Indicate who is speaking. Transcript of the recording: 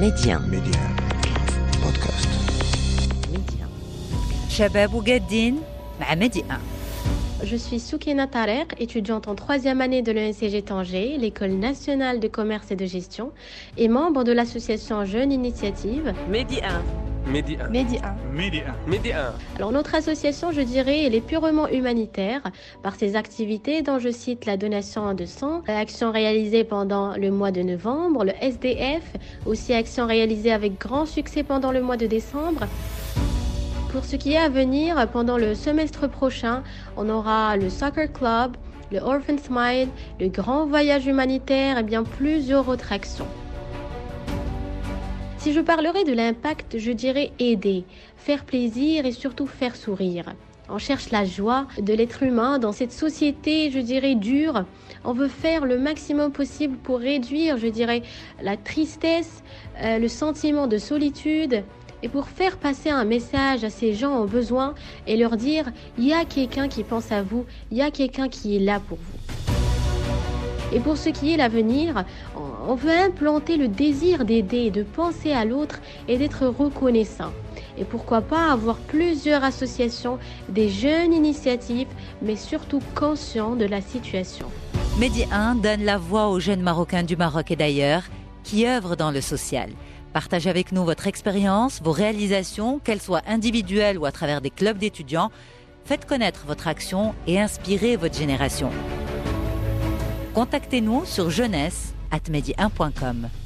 Speaker 1: ميديان
Speaker 2: بودكاست
Speaker 1: ميديان
Speaker 3: شباب وقادين مع ميديان.
Speaker 4: Je suis Soukena Tarek, étudiante en 3e année de l'ENCG Tanger, l'école nationale de commerce et de gestion, et membre de l'association Jeunes Initiative.
Speaker 1: ميديان
Speaker 4: Alors notre association, je dirais, elle est purement humanitaire par ses activités dont je cite la donation de sang, actions réalisées pendant le mois de novembre, le SDF, aussi actions réalisées avec grand succès pendant le mois de décembre. Pour ce qui est à venir, pendant le semestre prochain, on aura le Soccer Club, le Orphan Smile, le Grand Voyage Humanitaire et bien plusieurs autres actions. Si je parlerais de l'impact, je dirais aider, faire plaisir et surtout faire sourire. On cherche la joie de l'être humain dans cette société, je dirais, dure. On veut faire le maximum possible pour réduire, je dirais, la tristesse, le sentiment de solitude. Et pour faire passer un message à ces gens en besoin et leur dire « il y a quelqu'un qui pense à vous, il y a quelqu'un qui est là pour vous ». Et pour ce qui est l'avenir, on veut implanter le désir d'aider, de penser à l'autre et d'être reconnaissant. Et pourquoi pas avoir plusieurs associations, des jeunes initiatives, mais surtout conscients de la situation.
Speaker 3: Medi1 donne la voix aux jeunes Marocains du Maroc et d'ailleurs qui œuvrent dans le social. Partagez avec nous votre expérience, vos réalisations, qu'elles soient individuelles ou à travers des clubs d'étudiants. Faites connaître votre action et inspirez votre génération. Contactez-nous sur jeunesse@medi1.com.